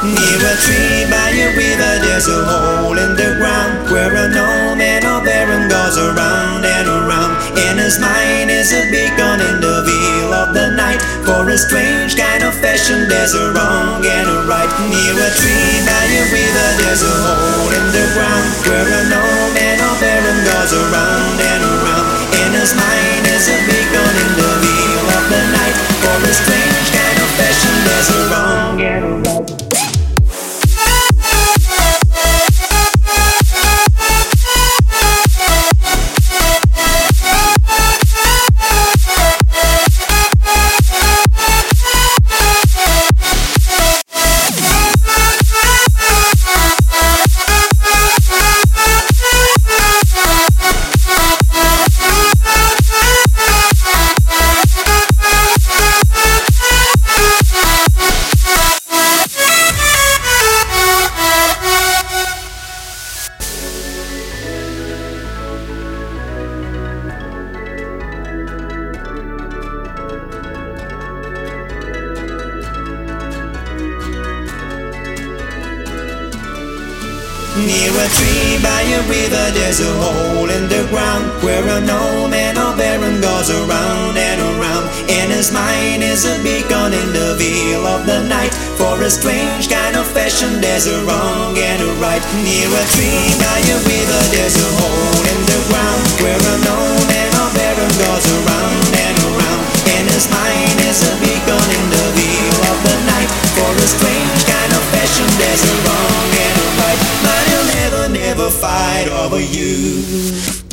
Near a tree by a river, there's a hole in the ground where a gnome and a baron goes around and around. In his mind is a beacon in the veil of the night. For a strange kind of fashion, there's a wrong and a right. Near a tree by a river, there's a hole in the ground where a gnome and a baron goes around and around. In his mind is a beacon in the veil of the night. For a strange kind of fashion, there's a wrong and a right. Near a tree by a river, there's a hole in the ground where a gnome and a baron goes around and around. In his mind is a beacon in the veil of the night. For a strange kind of fashion, there's a wrong and a right. Near a tree by a river, there's a hole in the ground where a gnome and a baron goes around and around. In his mind is a beacon in the veil of the night. For a strange kind of fashion, there's a wrong and a right. But he'll never, never fight over you.